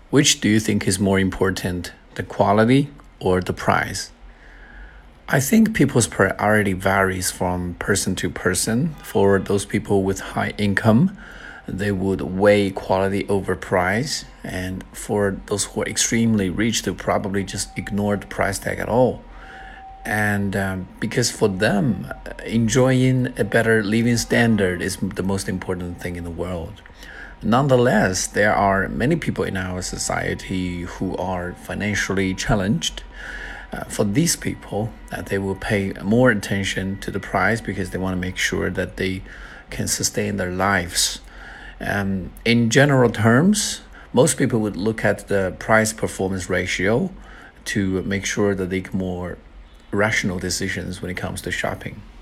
Which do you think is more important, the quality or the price? I think people's priority varies from person to person. For those people with high income, they would weigh quality over price. And for those who are extremely rich, they'll probably just ignore the price tag at all. And because for them, enjoying a better living standard is the most important thing in the world. Nonetheless, there are many people in our society who are financially challenged. For these people, they will pay more attention to the price because they want to make sure that they can sustain their lives. In general terms, most people would look at the price performance ratio to make sure that they make more rational decisions when it comes to shopping.